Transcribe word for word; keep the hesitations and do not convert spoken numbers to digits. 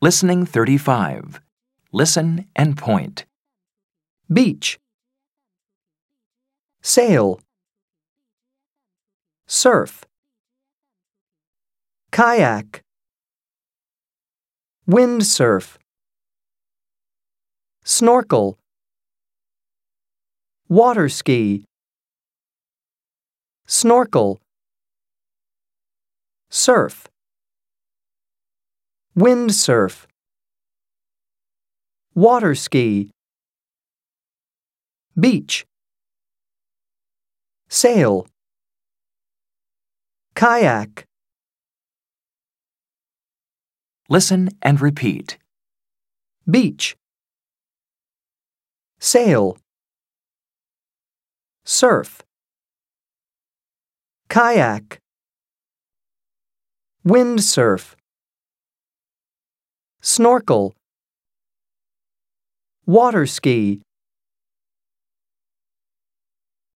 Listening thirty-five. Listen and point. Beach. Sail. Surf. Kayak. Windsurf. Snorkel. Water ski. Snorkel. Surf. Windsurf. Water ski. Beach. Sail. Kayak. Listen and repeat. Beach. Sail. Surf. Kayak. Windsurf. Snorkel. Water ski.